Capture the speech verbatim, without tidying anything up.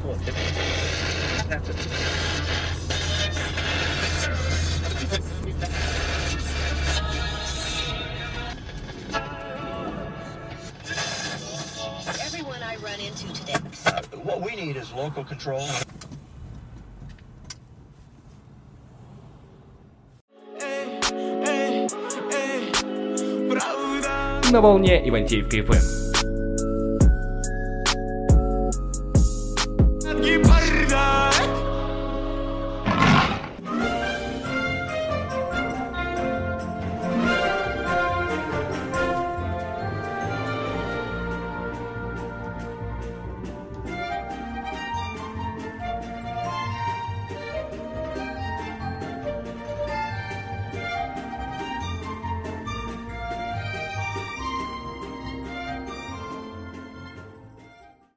Everyone I run into today. Uh, what we need is local control. На волне Ивантеевка эф эм.